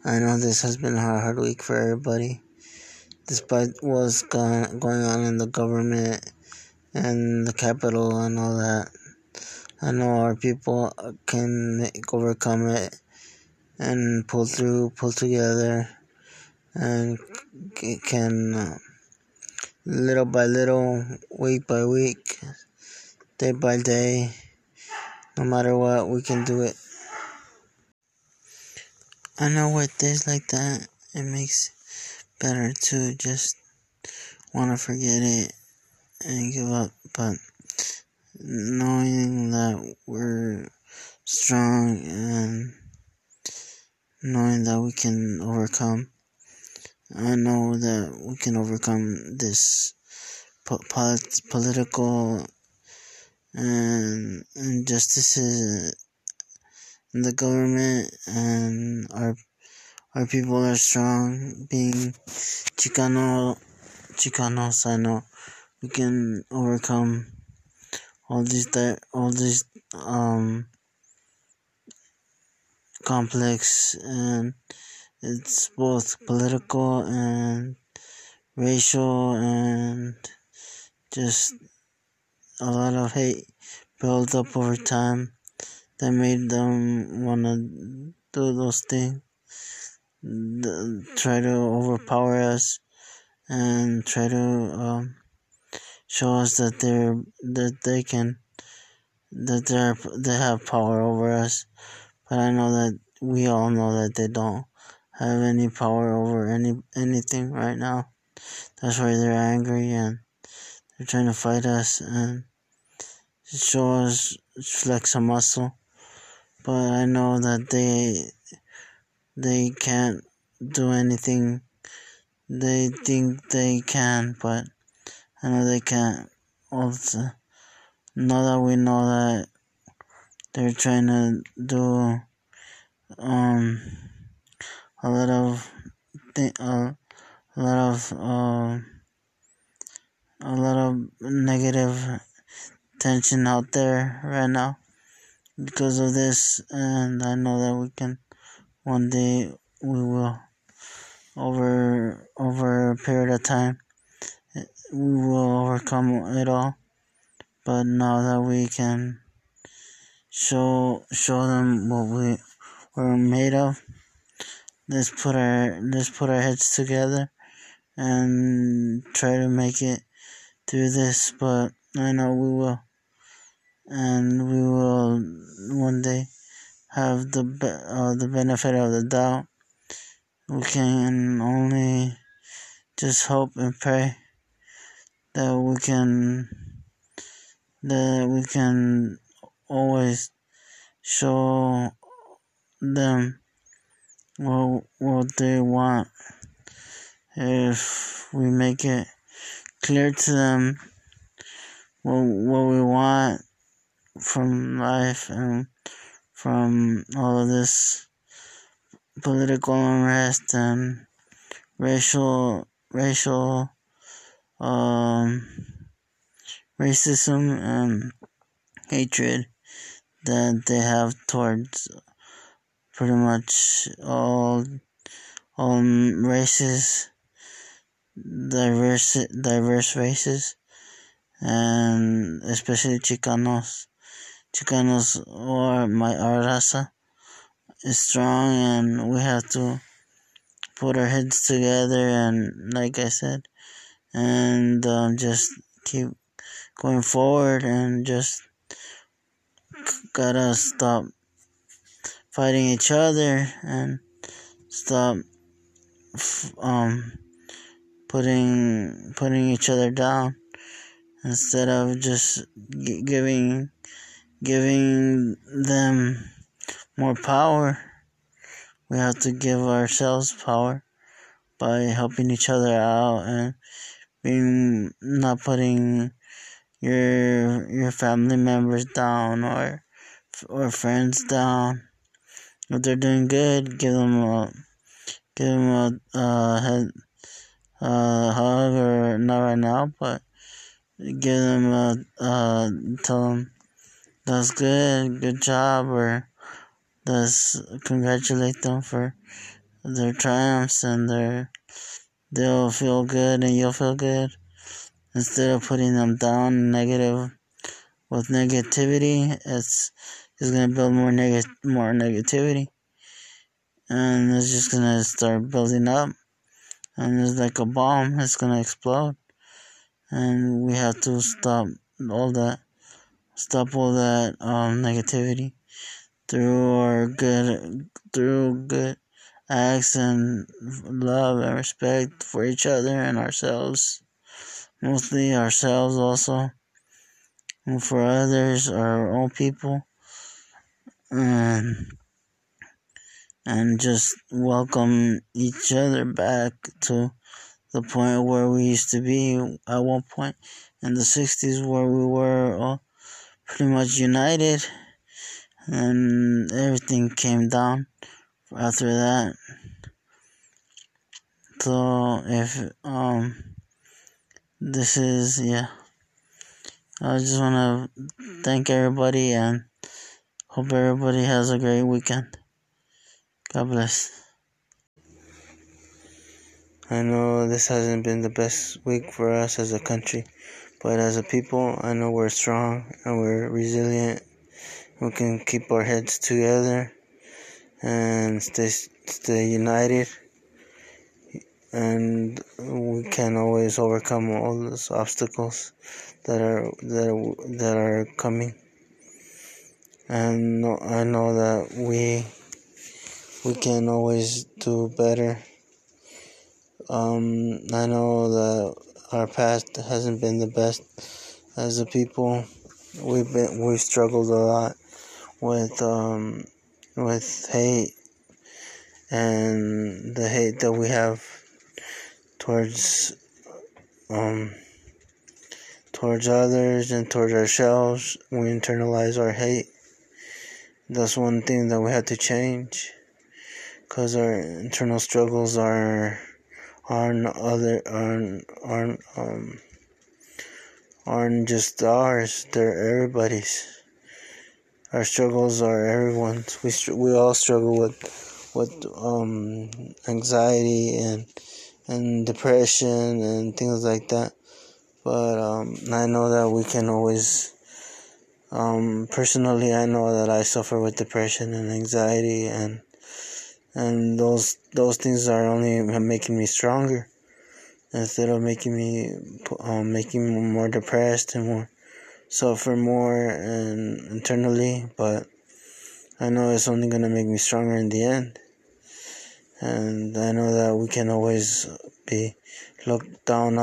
I know this has been a hard week for everybody, despite what's going on in the government and the capital and all that. I know our people can overcome it and pull together, and can little by little, week by week, day by day, no matter what, we can do it. I know with days like that, it makes better to just want to forget it and give up, but knowing that we're strong and knowing that we can overcome, I know that we can overcome this political and injustices in the government, and our people are strong. Being Chicanos, I know we can overcome all these complex, and it's both political and racial, and just a lot of hate built up over time that made them want to do those things, try to overpower us and try to show us that they have power over us. But I know that we all know that they don't have any power over anything right now. That's why they're angry and they're trying to fight us and show us, flex a muscle. But I know that they can't do anything. They think they can, but I know they can't. Also, now that we know that they're trying to do a lot of negative tension out there right now because of this, and I know that we can one day, we will, over a period of time, we will overcome it all. But now that we can show them what we're made of, let's put our heads together and try to make it through this. But I know we will, and we will one day have the benefit of the doubt. We can only just hope and pray that we can always show them what they want. If we make it clear to them what we want from life and from all of this political unrest and racial racism and hatred that they have towards pretty much all races, diverse races, and especially Chicanos. Or our raza is strong, and we have to put our heads together, and like I said, and just keep going forward, and just gotta stop fighting each other and stop putting each other down, instead of just giving them more power. We have to give ourselves power by helping each other out and not putting your family members down or friends down. If they're doing good, give them a hug, or not right now, but give them tell them that's good job, or congratulate them for their triumphs and they'll feel good and you'll feel good, instead of putting them down with negativity. It's gonna build more negativity, and it's just gonna start building up, and it's like a bomb. It's gonna explode, and we have to all that stop all that negativity through good acts and love and respect for each other and ourselves, mostly ourselves also, and for others, our own people, and just welcome each other back to the point where we used to be at one point in the 60s, where we were all pretty much united, and everything came down after that. So if this is I just want to thank everybody and hope everybody has a great weekend. God bless. I know this hasn't been the best week for us as a country, but as a people, I know we're strong and we're resilient. We can keep our heads together and stay united, and we can always overcome all those obstacles that are coming. And I know that we can always do better. I know that our past hasn't been the best as a people. We've struggled a lot with hate, and the hate that we have towards others and towards ourselves. We internalize our hate. That's one thing that we have to change, because our internal struggles aren't just ours. They're everybody's. Our struggles are everyone's. We all struggle with anxiety and depression and things like that. But I know that we can always. Personally, I know that I suffer with depression and anxiety, and those things are only making me stronger, instead of making me more depressed and more suffer more and internally. But I know it's only gonna make me stronger in the end, and I know that we can always be looked down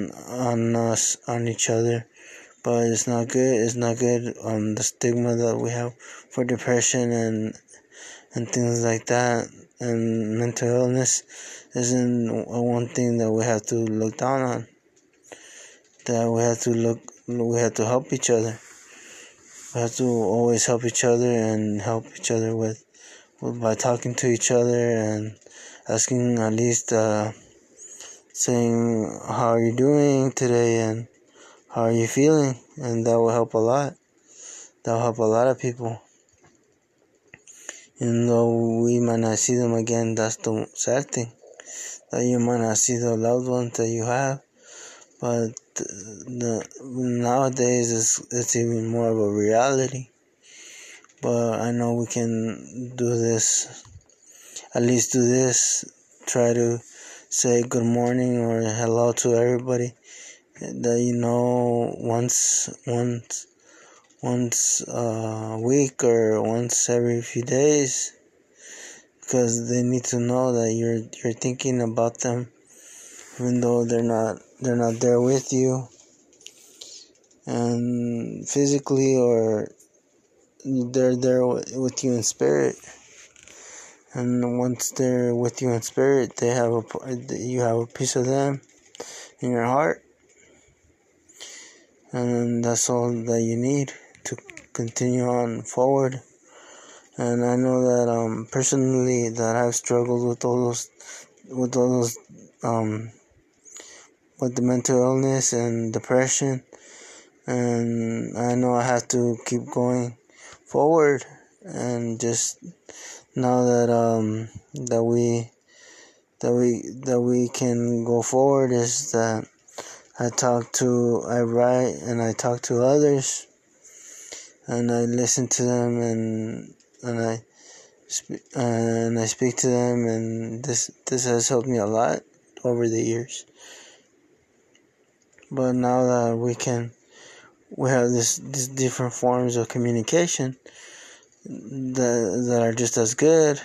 on each other, but it's not good. It's not good. The stigma that we have for depression and things like that, and mental illness, isn't one thing that we have to look down on. That we have to help each other. We have to always help each other, and help each other by talking to each other and asking, at least saying, how are you doing today and how are you feeling, and that will help a lot. That will help a lot of people. Even though we might not see them again, that's the sad thing. That you might not see the loved ones that you have, but nowadays it's even more of a reality. But I know we can do this. At least do this. Try to say good morning or hello to everybody that you know once a week or once every few days, because they need to know that you're thinking about them, even though they're not there with you, and physically, or they're there with you in spirit. And once they're with you in spirit, you have a piece of them in your heart, and that's all that you need to continue on forward. And I know that personally, that I've struggled with all those with the mental illness and depression, and I know I have to keep going forward. And just now that we that we can go forward is that I write and I talk to others, and I listen to them, and I speak to them, and this has helped me a lot over the years. But now that we have these different forms of communication that are just as good,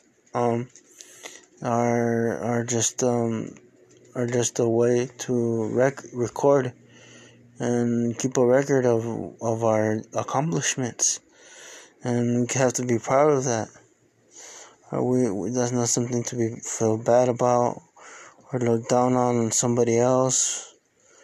are just a way to record and keep a record of our accomplishments, and we have to be proud of that. That's not something to feel bad about or look down on somebody else.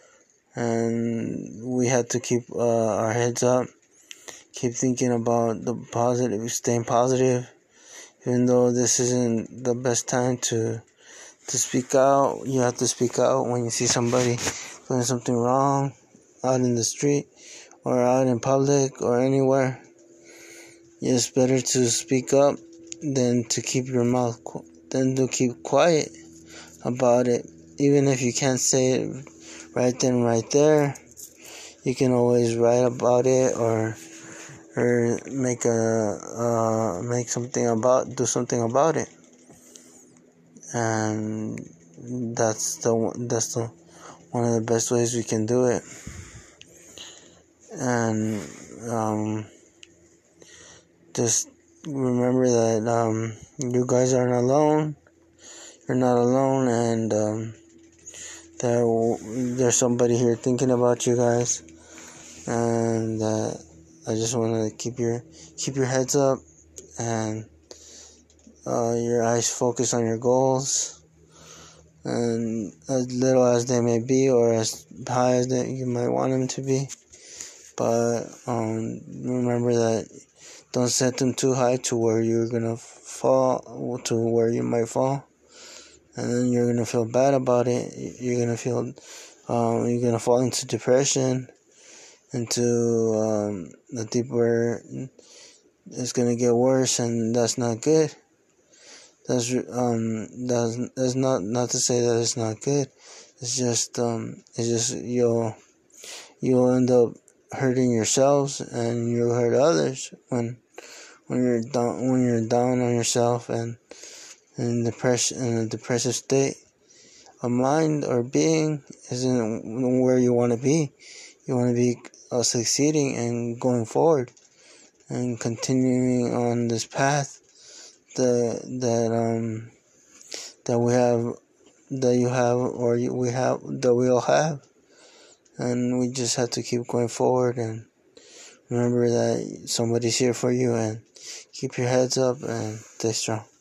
And we have to keep our heads up, keep thinking about the positive, staying positive, even though this isn't the best time to speak out. You have to speak out when you see somebody doing something wrong out in the street or out in public or anywhere. It's better to speak up than to keep keep quiet about it. Even if you can't say it right then, right there, you can always write about it or do something about it. And that's one of the best ways we can do it. And just remember that you guys aren't alone. You're not alone, and that there's somebody here thinking about you guys. And I just want to keep your heads up and your eyes focused on your goals, and as little as they may be or as high as you might want them to be. But remember that don't set them too high to where you're gonna fall, to where you might fall, and then you're gonna feel bad about it. You're gonna fall into depression, into a deeper. It's gonna get worse, and that's not good. That's not to say that it's not good. It's just you'll end up hurting yourselves, and you'll hurt others when you're down on yourself and in a depressive state of mind or being isn't where you want to be. You want to be succeeding and going forward and continuing on this path that we all have, and we just have to keep going forward and remember that somebody's here for you, and keep your heads up and stay strong.